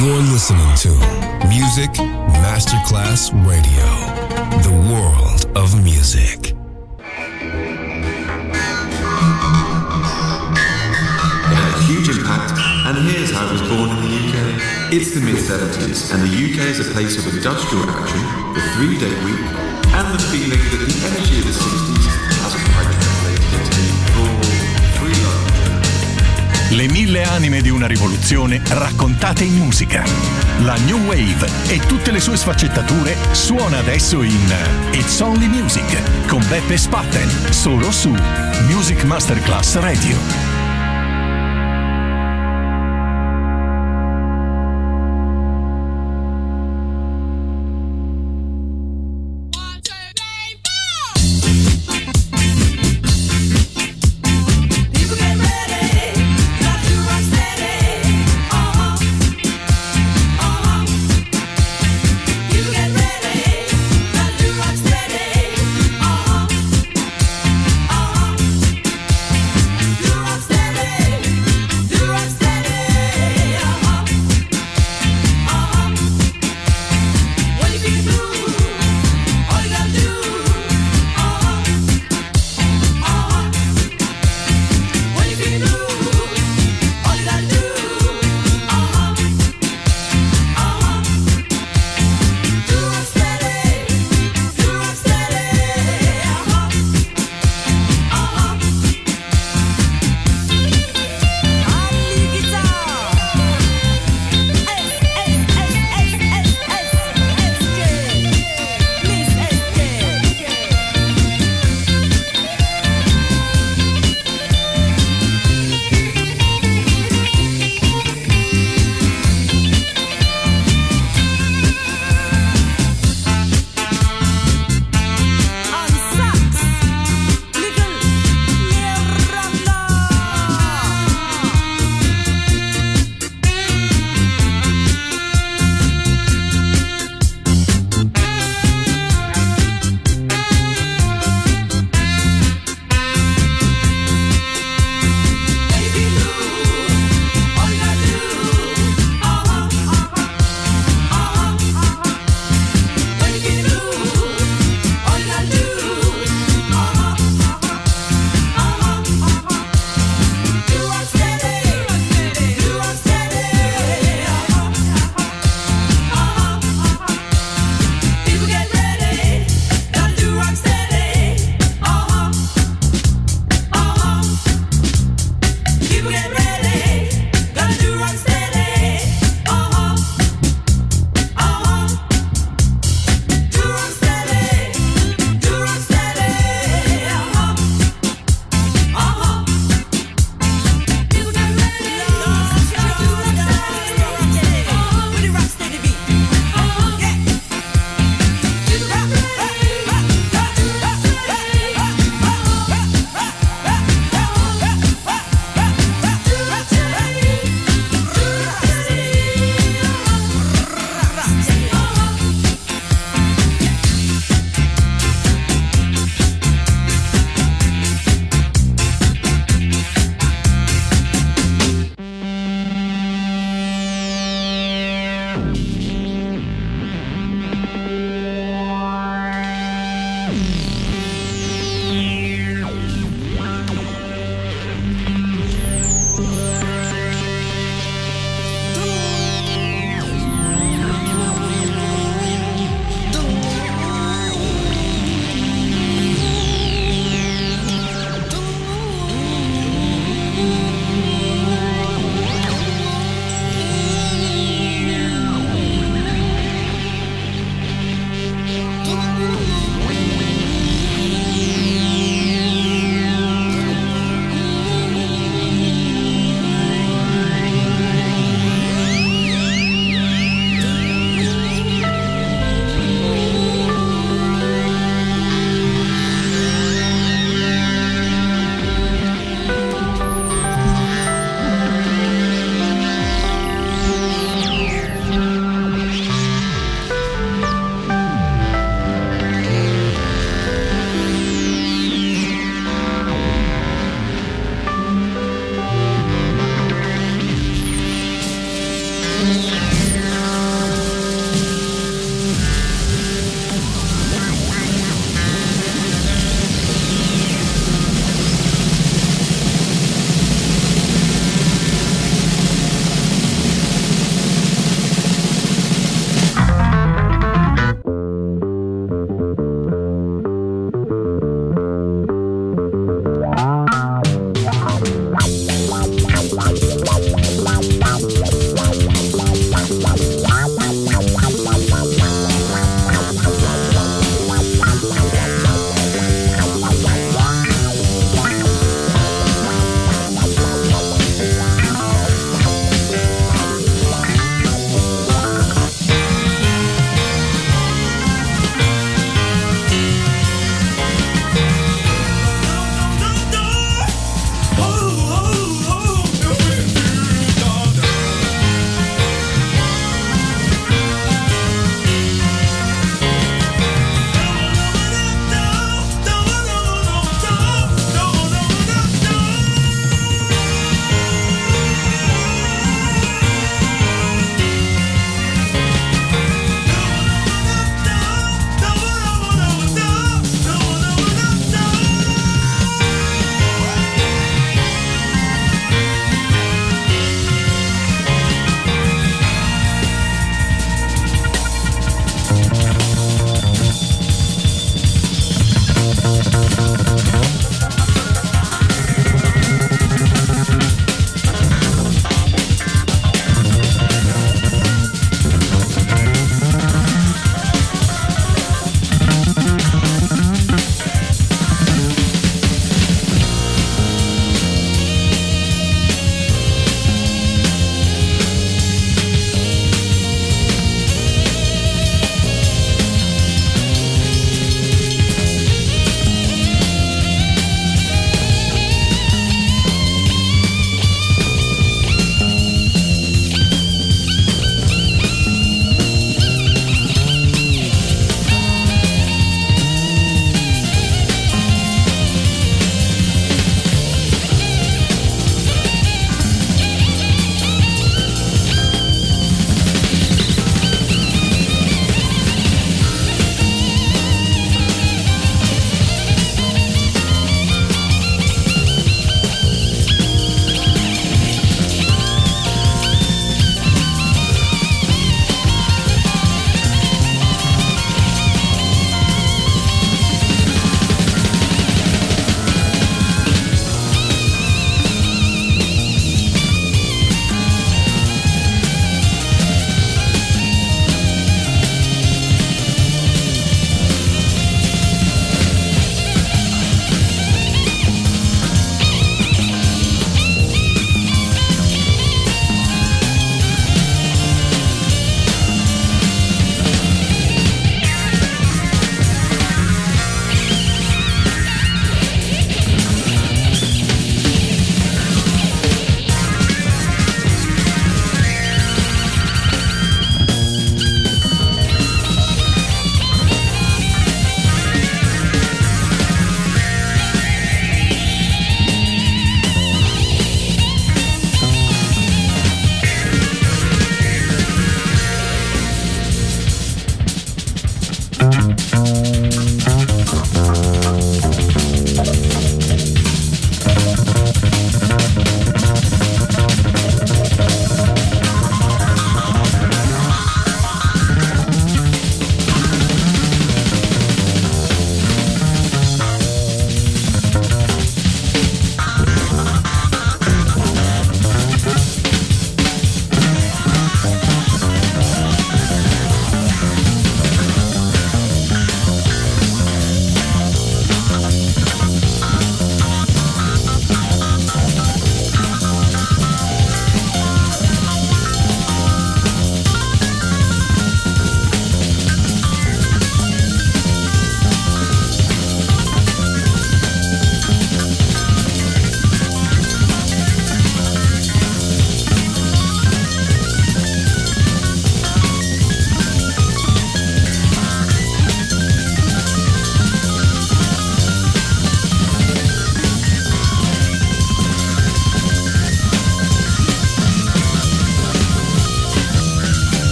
You're listening to Music Masterclass Radio, the world of music. It had a huge impact, and here's how it was born in the UK. It's the mid-70s, and the UK is a place of industrial action, the 3-day week, and the feeling that the energy of the 60s hasn't quite translated into the raw, free love. Le 1000 anime di una rivoluzione raccontate in musica. La New Wave e tutte le sue sfaccettature suona adesso in It's Only Music con Beppe Spatten, solo su Music Masterclass Radio. Rock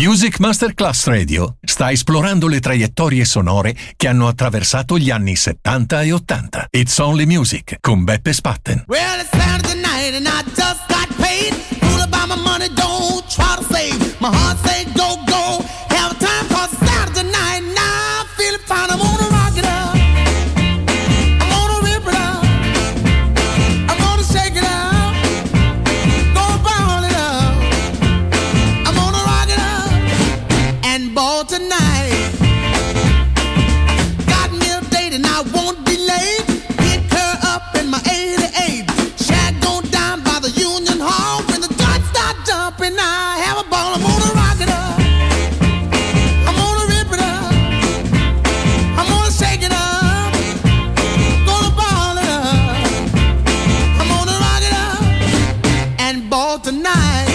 Music Masterclass Radio sta esplorando le traiettorie sonore che hanno attraversato gli anni 70 e 80. It's Only Music con Beppe Spatten. Well, it's Saturday night and I just got paid. Fool about my money, don't try to save. My heart say go, go. Have a time cause Saturday night. Now I'm feeling fine. I'm gonna rock it up. I'm gonna rip it up. I'm gonna shake it up. Gonna ball it up. I'm gonna rock it up and ball tonight. Got me a date and I won't be late. Pick her up in my 88. Shag gon' down by the Union Hall. When the joints start jumping, I have a ball. I'm gonna rock it up. I'm gonna rip it up. I'm gonna shake it up. Gonna ball it up. I'm gonna rock it up and ball tonight.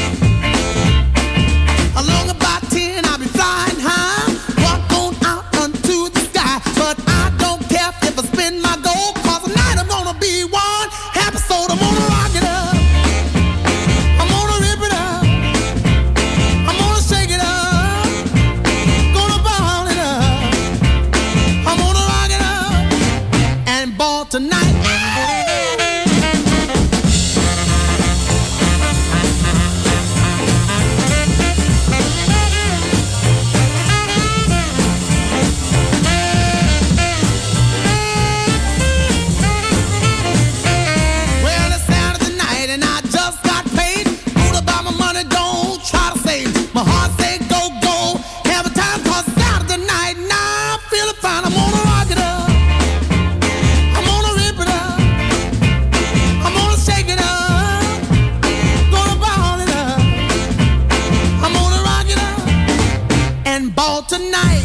Along about 10, I'll be flying high. Walk on out unto the sky. But I don't care if I spend my gold. Cause tonight I'm gonna be one episode. I'm gonna rock it up. I'm gonna rip it up. I'm gonna shake it up. Gonna ball it up. I'm gonna rock it up and ball tonight. Well, it's Saturday night and I just got paid. Fool about my money, don't try to save. My heart say go, go. Have a time cause Saturday night. Now I'm feeling fine. I'm gonna rock it up. I'm gonna rip it up. I'm gonna shake it up. Gonna ball it up. I'm gonna rock it up and ball tonight.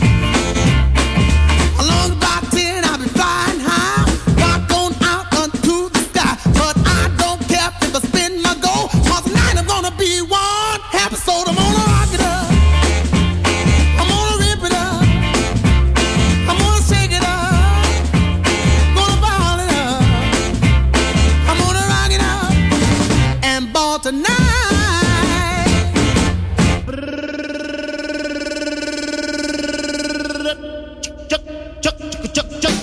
Along about 10, I'll be flying high. Walk on out unto the sky. But I don't care if I spend my gold. Cause tonight I'm gonna be one episode. I'm gonna rock it up. I'm gonna rip it up. I'm gonna shake it up. Gonna ball it up. I'm gonna rock it up and ball tonight. Chuck, chuck, chuck, chuck, chuck.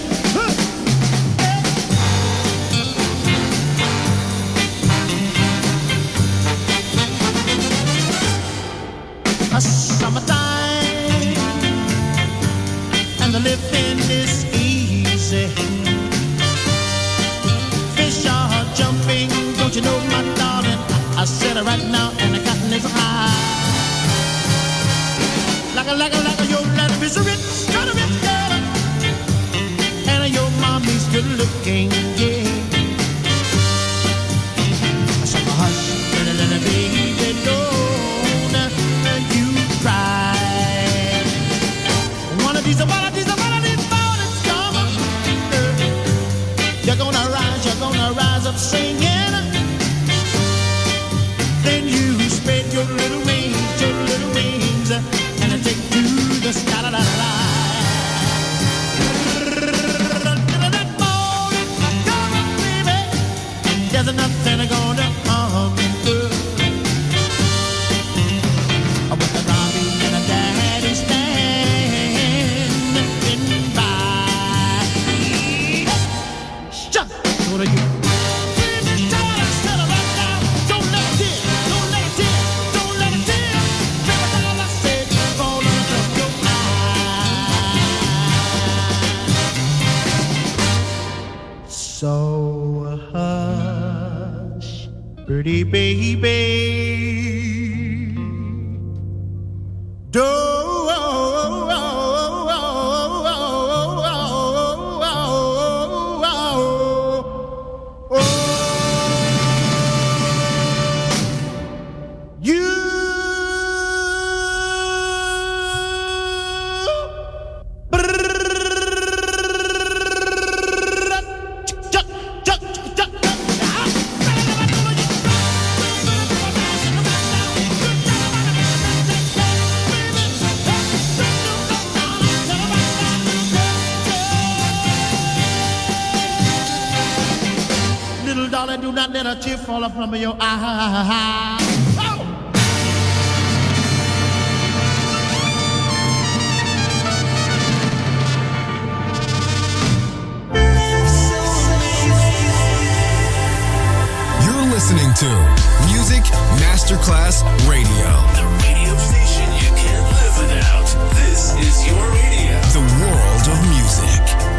A summertime and the living is easy. Fish are jumping, don't you know, my darling? I said it right now, and the cotton is high. Like a, your life is rich, kind of rich girl, and your mommy's good looking, yeah. So hush, little baby, don't you cry. One of these mornings come, you're gonna rise up singing. Then you spread your little wings, and take to the sky. La, la, la, la. That morning, come on, baby. There's nothing gonna harm you. With the mommy and the daddy standing by. Shut! What are you? Don't let it Baby, all I said, fall out of your eye. So hush, pretty baby. Darling, do not let a tear fall from your eye. Oh! to Music Masterclass Radio. The radio station you can't live without. This is your radio. The world of music.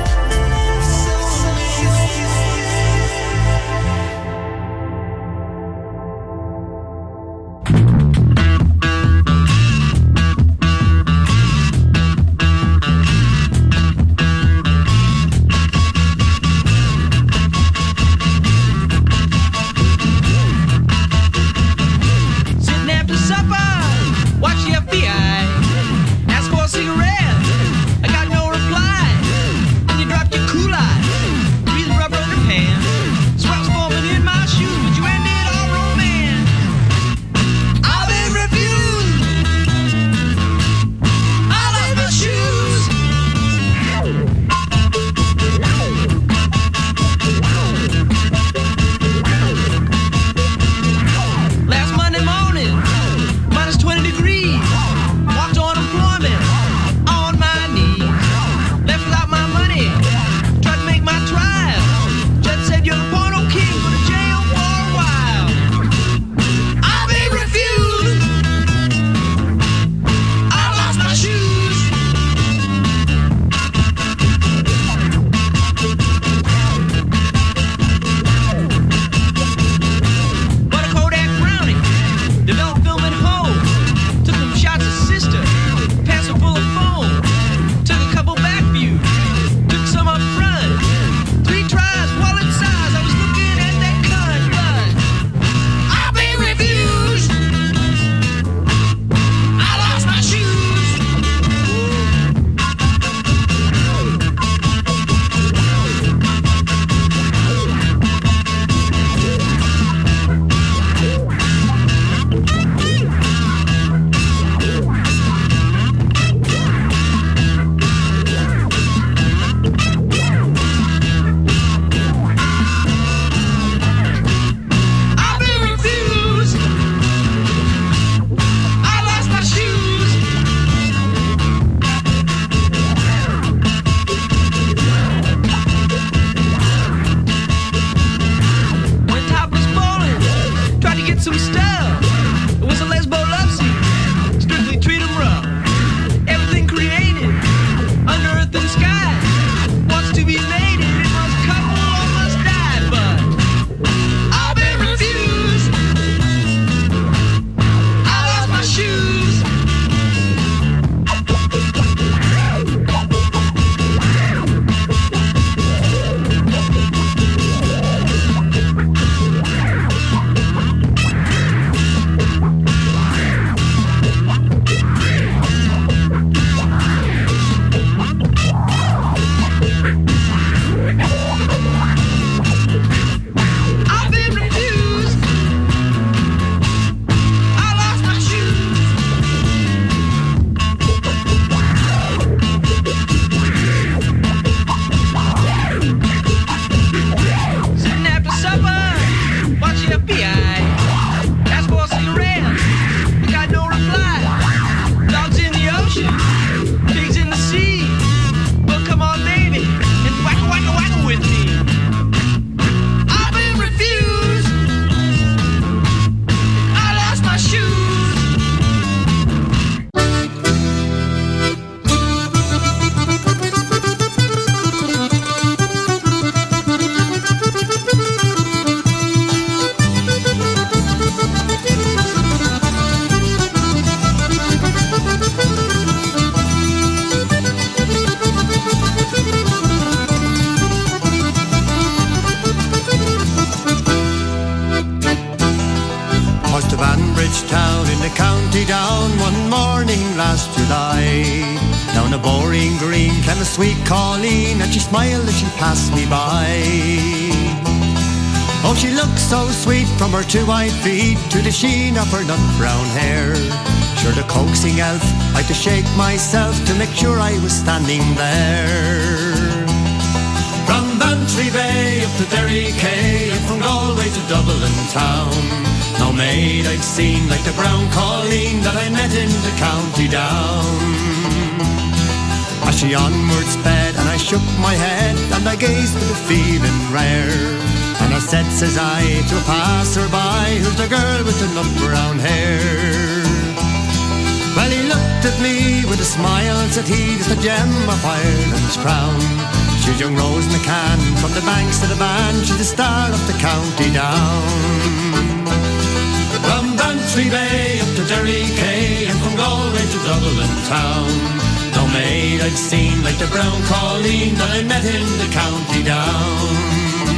Sweet Colleen, and she smiled as she passed me by. Oh, she looked so sweet from her 2 white feet to the sheen of her nut brown hair. Sure, the coaxing elf, I had to shake myself to make sure I was standing there. From Bantry Bay up to Derry Quay, and from Galway to Dublin town, no maid I've seen like the brown Colleen that I met in the County Down. As she onward sped, and I shook my head, and I gazed with a feeling rare, and I said, says I, to a passer-by, who's the girl with the nut brown hair? Well, he looked at me with a smile, said he, "It's the gem of Ireland's crown. She's young Rose McCann, from the banks to the band, she's the star of the county down." From Bantry Bay up to Derry Quay, and from Galway to Dublin town, no maid I've seen like the brown Colleen that I met in the county down.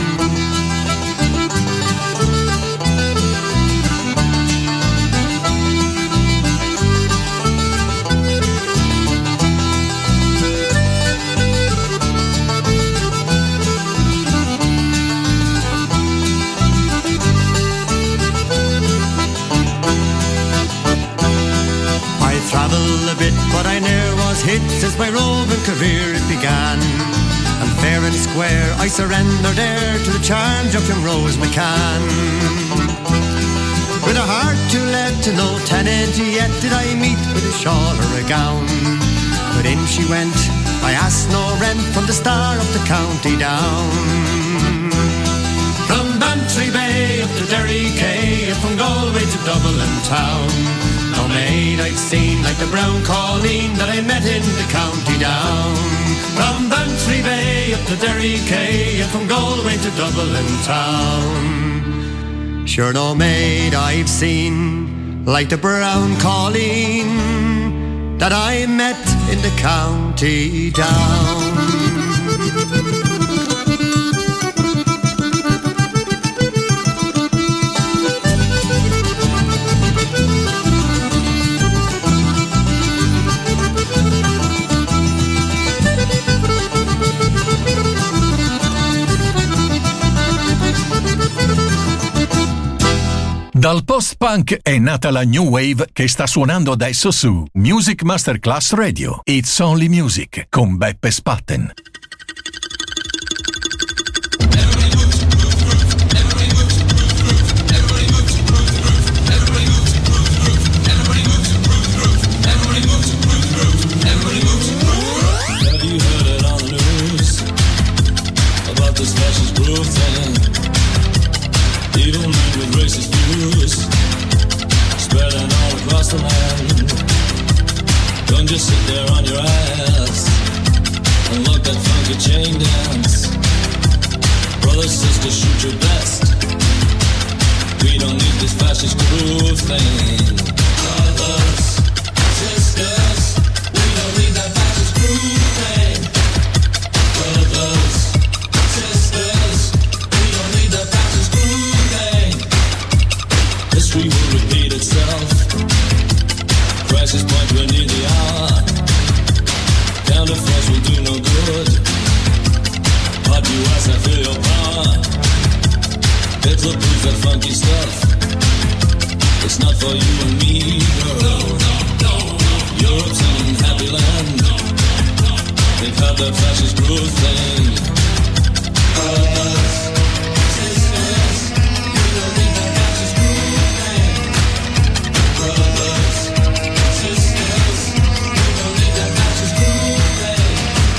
Travel a bit, but I ne'er was hit since my roving career it began. And fair and square I surrender there to the charms of young Rose McCann. With a heart too lead to no tenant yet did I meet with a shawl or a gown. But in she went, I asked no rent, from the star of the county down. From Bantry Bay up to Derry Quay, and from Galway to Dublin town, no maid I've seen like the brown Colleen that I met in the county down. From Bantry Bay up to Derry Quay, and from Galway to Dublin town, sure no maid I've seen like the brown Colleen that I met in the county down. Dal post-punk è nata la New Wave che sta suonando adesso su Music Masterclass Radio. It's Only Music con Beppe Spatten. Spreading all across the land. Don't just sit there on your ass and look that funky chain dance. Brothers, sisters, shoot your best. We don't need this fascist groove thing. Brothers, sisters, we don't need that fascist groove thing. Brothers, sisters, we don't need that fascist groove thing. History will repeat itself. Crisis point, we're near the hour. Counterforce will do no good. Hot US, I feel your power. Hitler proves that funky stuff. It's not for you and me, girl. No. Europe's an unhappy land. They've had their fascist groove thing. Sisters, you don't need that fascist groove thing. Brothers, sisters, you don't need that fascist groove thing.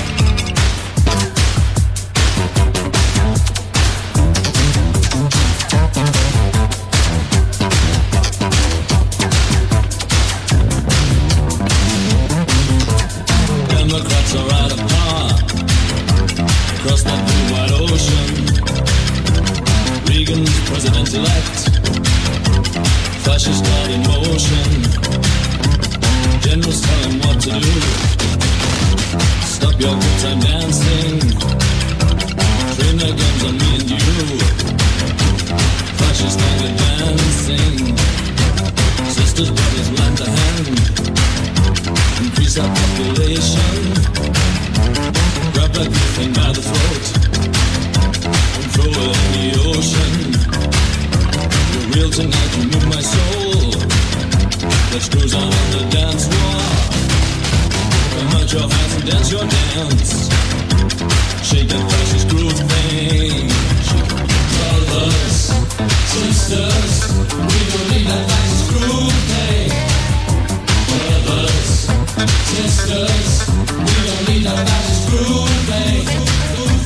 Democrats are out of power. Across that blue wide ocean, Reagan's president-elect. Fascist God in motion. Generals tell him what to do. Stop your good time dancing. Train their guns on me and you. Fascist gang advancing. Sisters, brothers, lend a hand. Increase our population. Grab that good thing by the throat and throw it in the ocean. You're real tonight, you move my soul. Let's cruise on the dance floor. Come out your hands and dance your dance. Shake that fascist groove thing. Brothers, sisters, we don't need that fascist groove thing. Brothers, sisters, we don't need that fascist groove thing.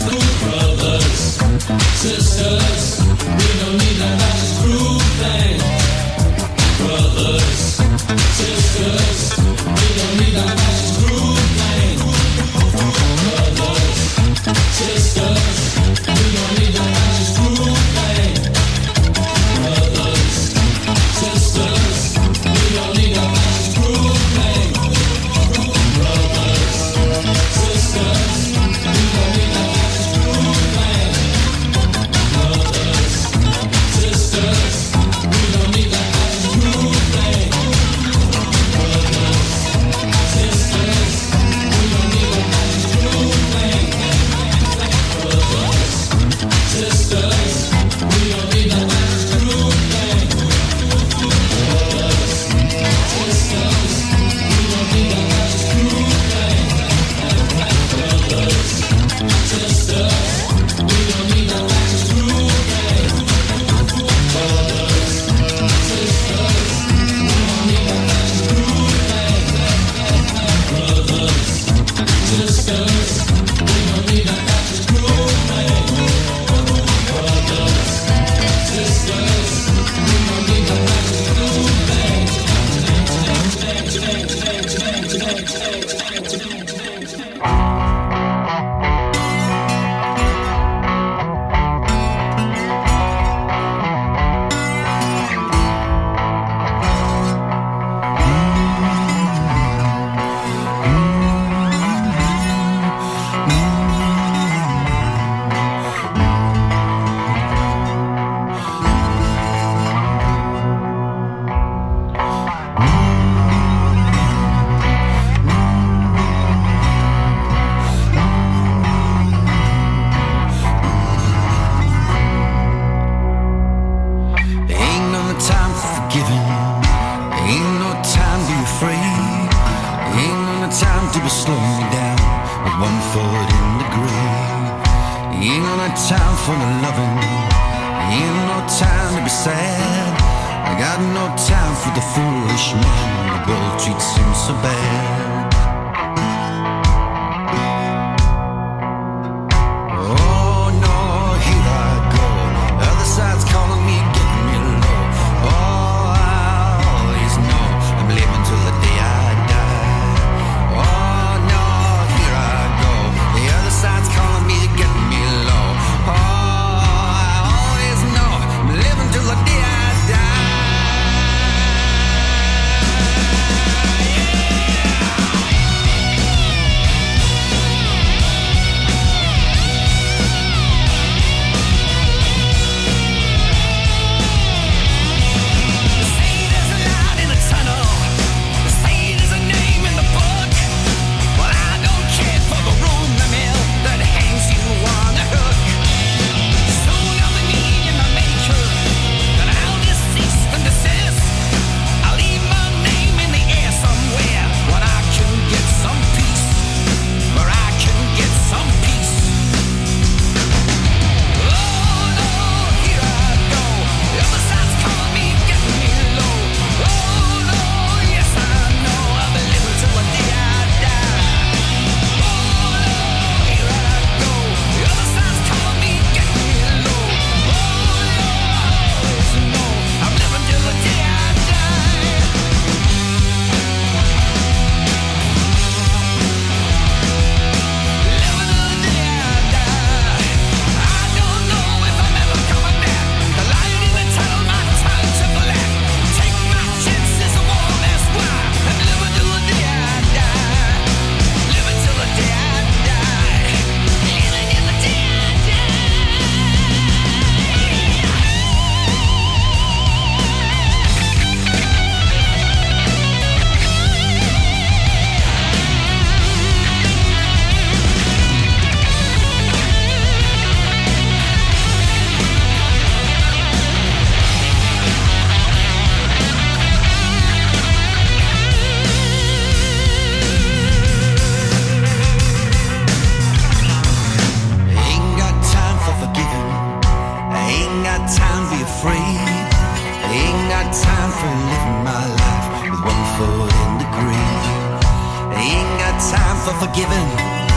for forgiving. I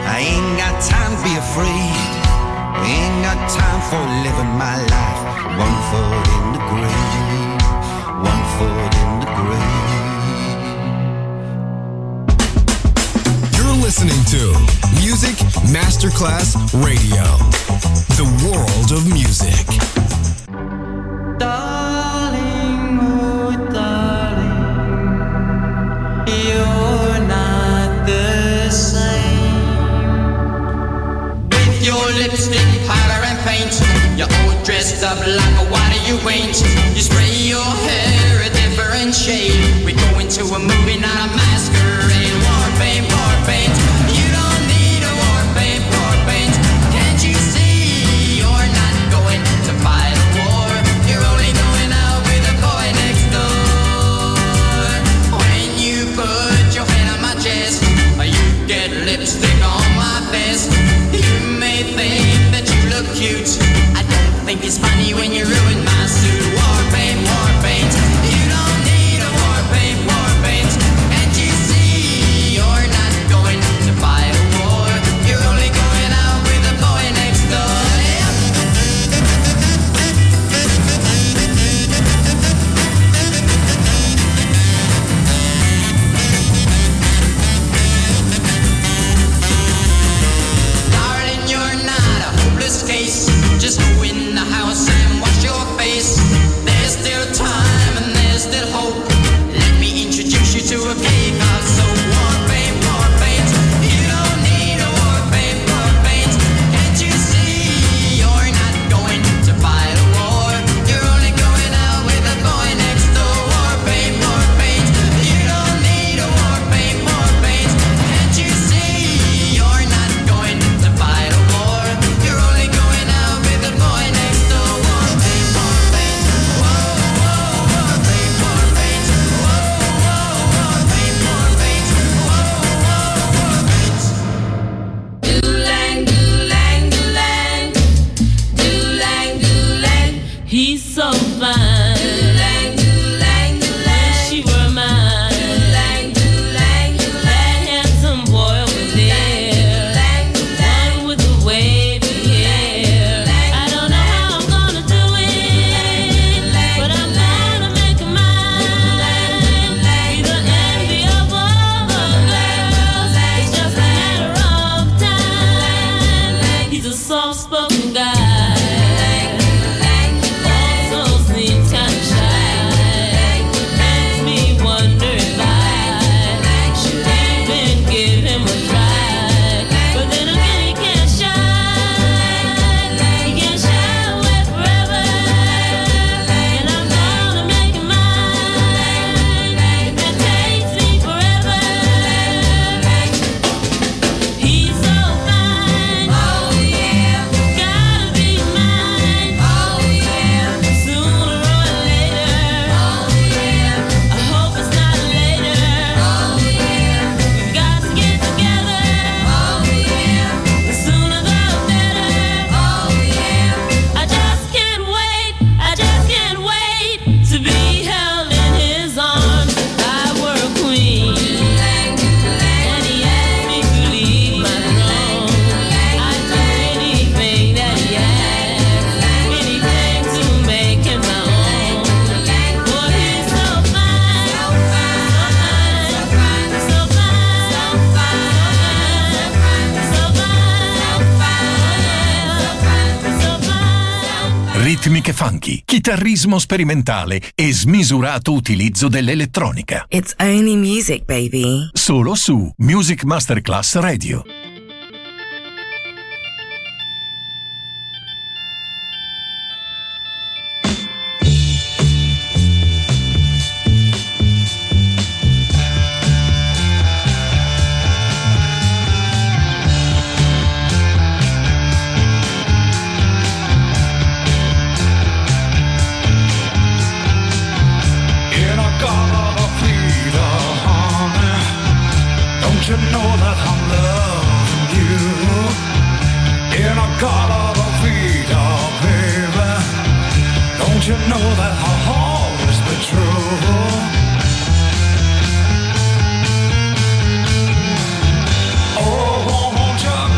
I ain't got time to be afraid. I ain't got time for living my life. One foot in the grave, one foot in the grave. You're listening to Music Masterclass Radio, the world of music. Darling, oh darling, you're not the same. With your lipstick, powder and paint, you're all dressed up like a what you ain't. You spray your hair a different shade. We go into a movie, not a masquerade. War paint, you don't need a war paint, can't you see? You're not going to fight a war. You're only going out with the boy next door. When you put your hand on my chest, you get lipstick on my vest. You may think that you look cute, I don't think it's funny when you ruin my suit. War paint, you don't need a war paint, can't you see? You're not going to fight a war. You're only going out with the boy next door. Darling, you're not a hopeless case. Just go in the house and wash your face. There's still time and there's still hope. Let me introduce you to a cake of soap. War paint, you don't need a war paint, can't you see? You're not going to fight a war. You're only going out with the boy next door. War paint, you don't need a war paint, can't you see? You're not going to fight a war. You're only going out with the boy next door. War paint, whoa, war paint, whoa, war paint, Doolang, doolang, doolang, doolang, doolang. He's so fine. Doolang, doolang, doolang. Wish she were mine. Doolang, doolang, doolang. That handsome boy over there. Doolang, doolang. One with the wavy hair. I don't know how I'm gonna do it, but I'm gonna make him mine. He's the envy of all the girls. It's just a matter of time. He's a soft-spoken guy. Also seems kinda shy. Makes me wonder if I should even give him a try. But then again, he can't shine. He can't shy away forever. And I'm gonna make him mine. If it takes me forever. He's so fine. Oh yeah. Gotta be mine. Oh yeah. Sooner or later. Oh yeah. I hope it's not later. Oh yeah. We've got to get together. Oh yeah. The sooner the better. Oh yeah. I just can't wait. I just can't wait to be held in his arms. I were a queen. And he asked me to leave my throne. I'd do anything that he asked, anything to make him my own. Boy, he's so fine, so fine, so fine, so fine, so fine, so fine, so fine. Ritmiche funky, chitarrismo sperimentale e smisurato utilizzo dell'elettronica. It's only music, baby. Solo su Music Masterclass Radio. In a garden of freedom, honey, don't you know that I'm loving you? In a garden of freedom, baby, don't you know that I'll always be true? Oh, won't you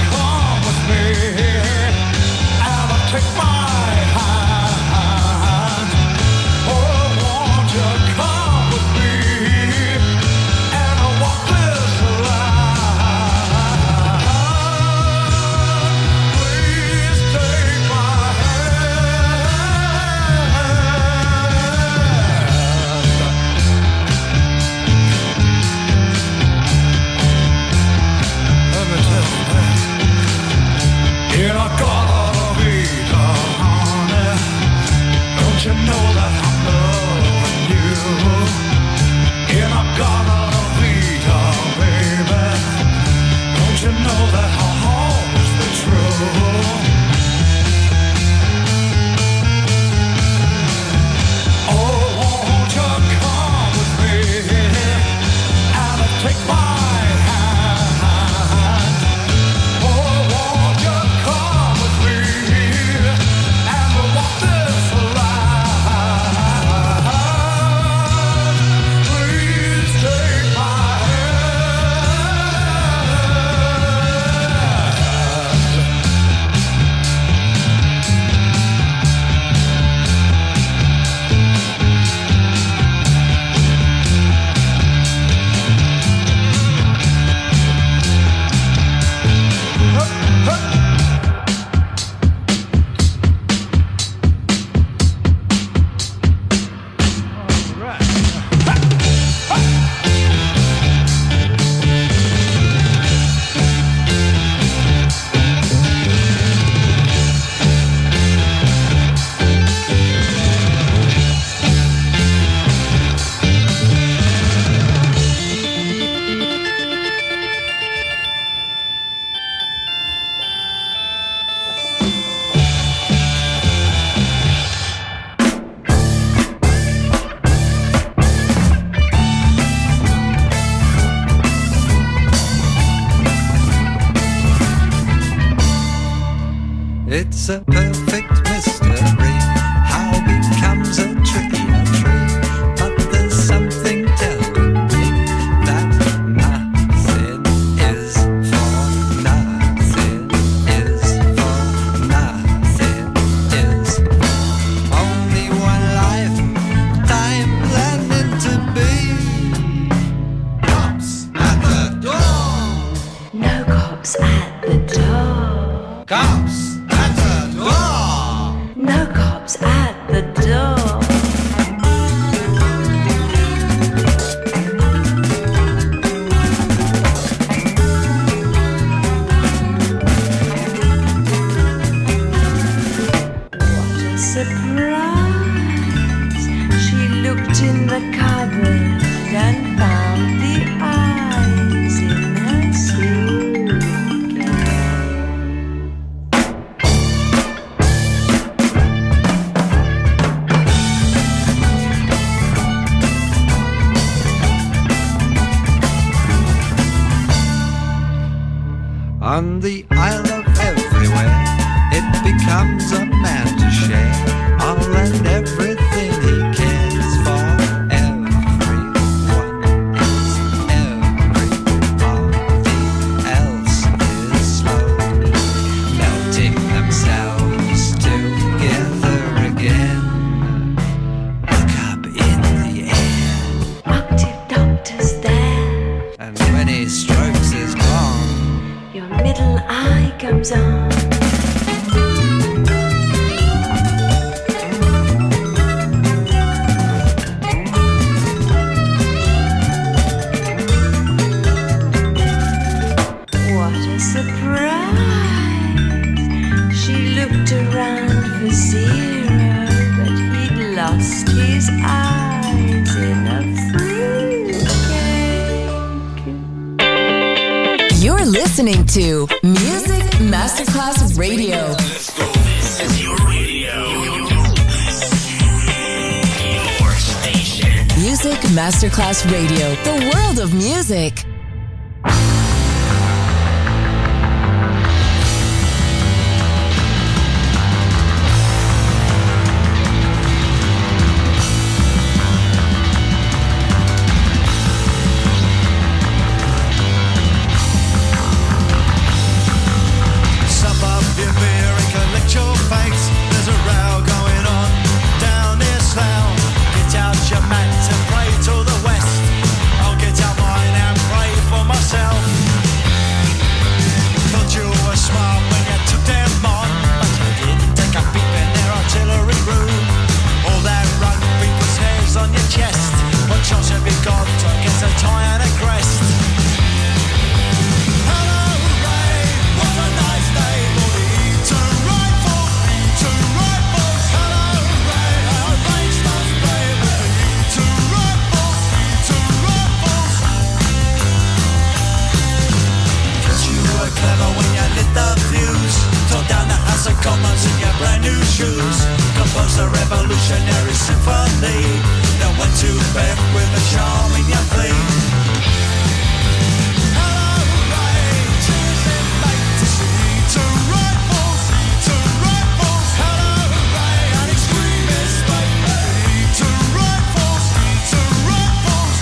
It's a perfect mystery. How becomes a tree a tree? But there's something telling me that nothing is for nothing is for nothing is only one lifetime learning to be. Cops at the door. No cops at the door. Cops at the door. No cops at the door. What a surprise. She looked in the cupboard and found the eyes in her suitcase. On the Isle of Everywhere, it becomes a man to share all and everything he cares for. Everyone else, everybody else is slowly melting themselves together again. Look up in the air, Octave Doctor's there. and when he strokes his palm, Your middle eye comes on. What a surprise. She looked around for Zero, but he'd lost his eyes in a fruitcake. You're listening to Music Masterclass Radio. This is your radio. Your station. Music Masterclass Radio, the world of music. Sup up your beer and collect your fakes. There's a row going on down near Slough. Get out your mat and pray to the west. I'll get out mine and pray for myself. Thought you were smart when you took them on, but you didn't take a peep in their artillery room. All that rugby puts hairs on your chest. What chance have you got against a tie and a crest? Hello, Ray, what a nice day for the Eton Rifles. Eton Rifles. Hello, Ray, I arranged us play with the Eton Rifles. Eton Rifles. Guess you were clever when you lit the fuse. Tore down the House of Commons in your brand new shoes. Composed a revolutionary symphony. Then went to bed with a charm in your plea. Hello, Ray, cheers and mate to see Eton Rifles. Eton Rifles. Hello, Ray, an extremist mate. Eton Rifles. Eton Rifles.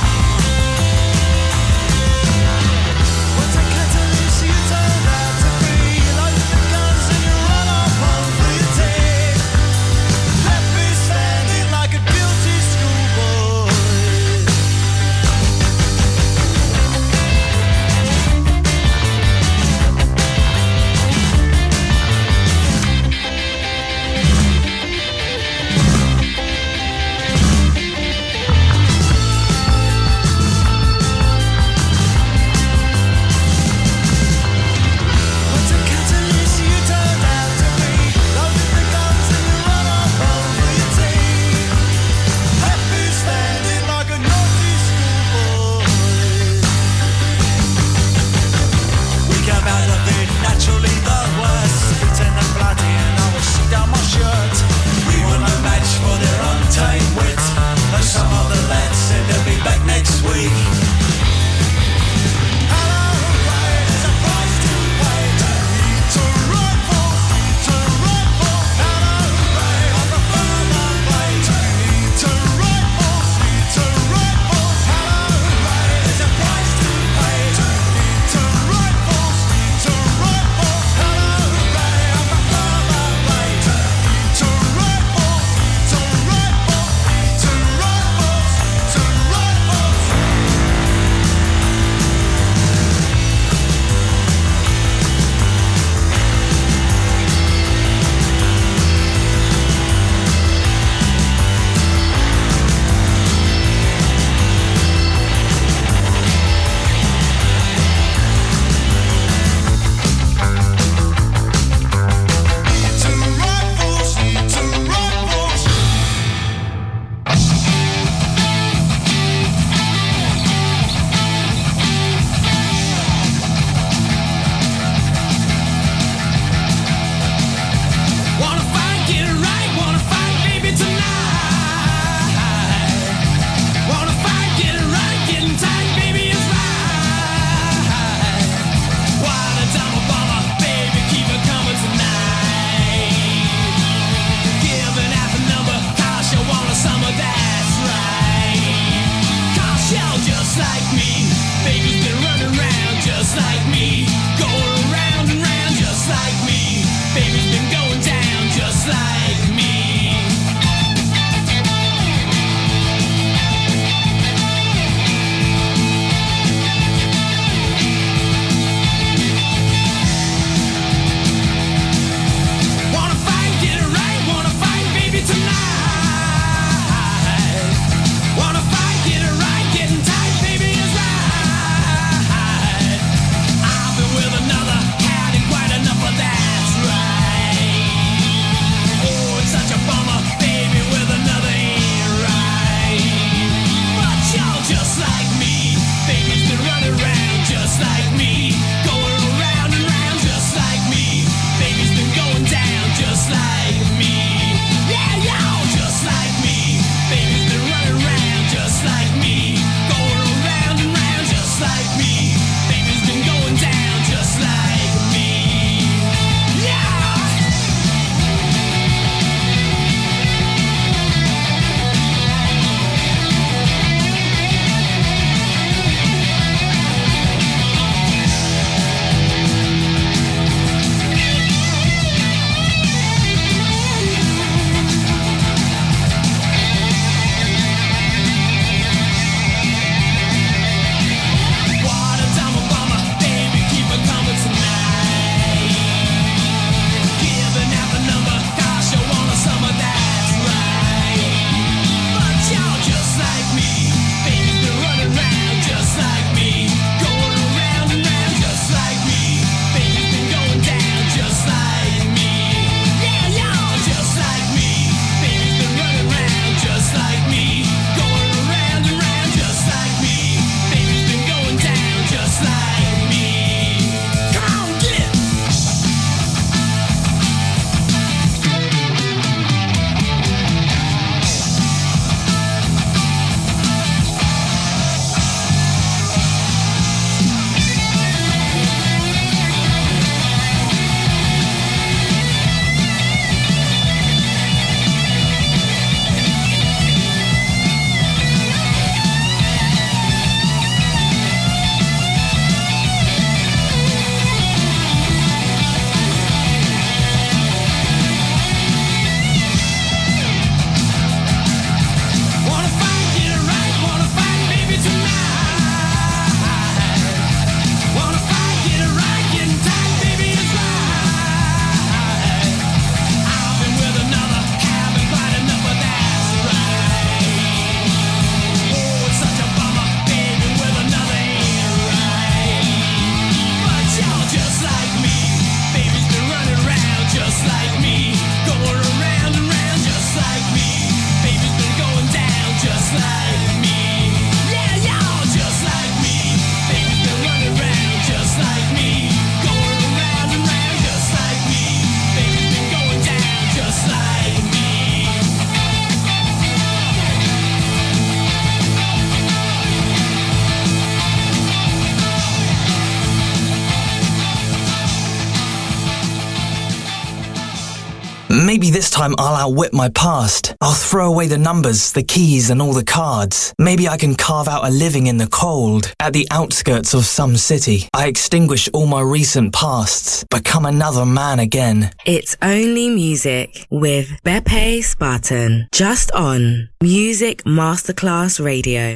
What's a catalyst you turn out to be? You load the guns and you run off home for your tea. Left me standing like a guilty schoolboy. Maybe this time I'll outwit my past. I'll throw away the numbers, the keys and all the cards. Maybe I can carve out a living in the cold, at the outskirts of some city. I extinguish all my recent pasts, become another man again. It's Only Music with Beppe Spartan, just on Music Masterclass Radio.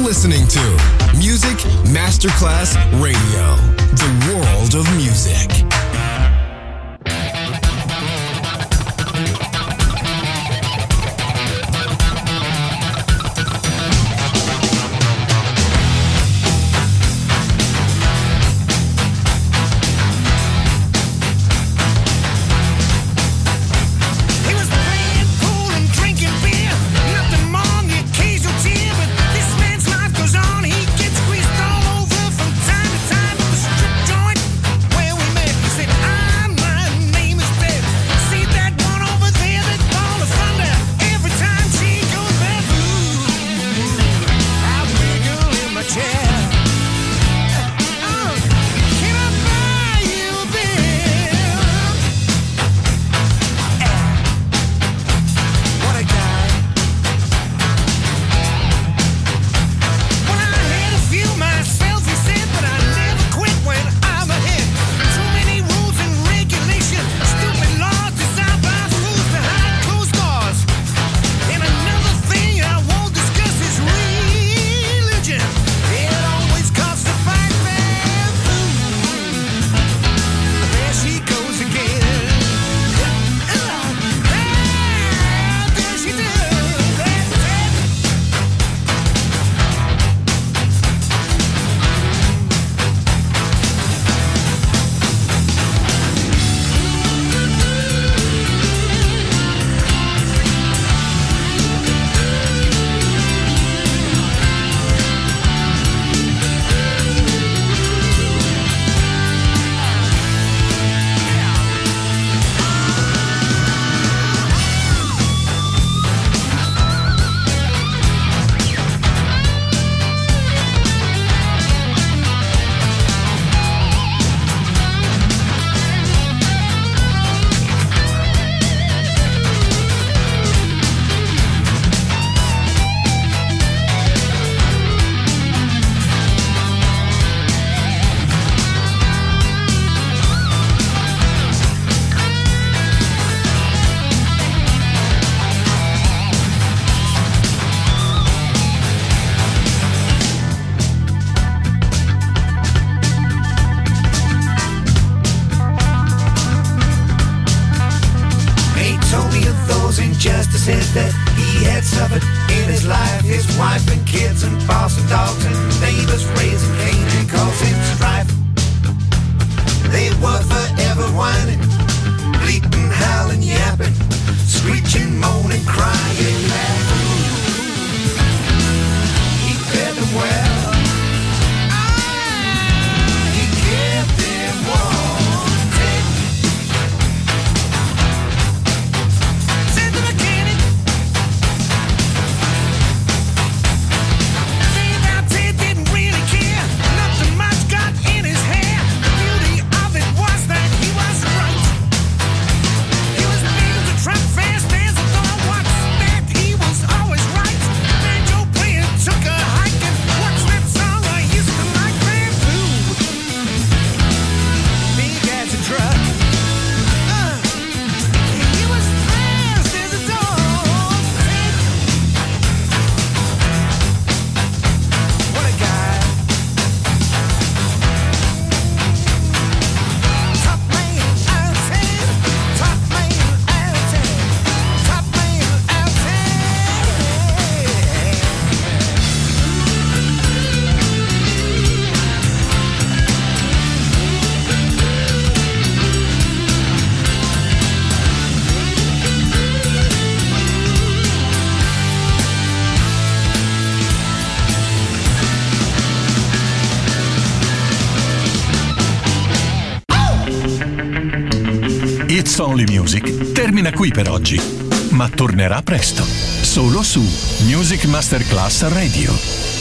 listening to Music Masterclass Radio, the world of music. Where we met, he said, said that he had suffered in his life. His wife and kids and boss and dogs and neighbors raising Cain and causing strife. They were forever whining, bleating, howling, yapping, screeching, moaning, crying, laughing. He fed them well. He kept them wanting. Said the mechanic, Dave out there didn't really care. Nothing much got in his hair. The beauty of it was that he was right. He was able to trap fast as a dog. What's that? He was always right. Banjo player took a hike and watched that song I used to like. Bamboo, big as a truck. He was fast as a dog. What a guy. Top man out of 10. Top man out of 10. Top man out of 10. It's Only Music termina qui per oggi, ma tornerà presto, solo su Music Masterclass Radio.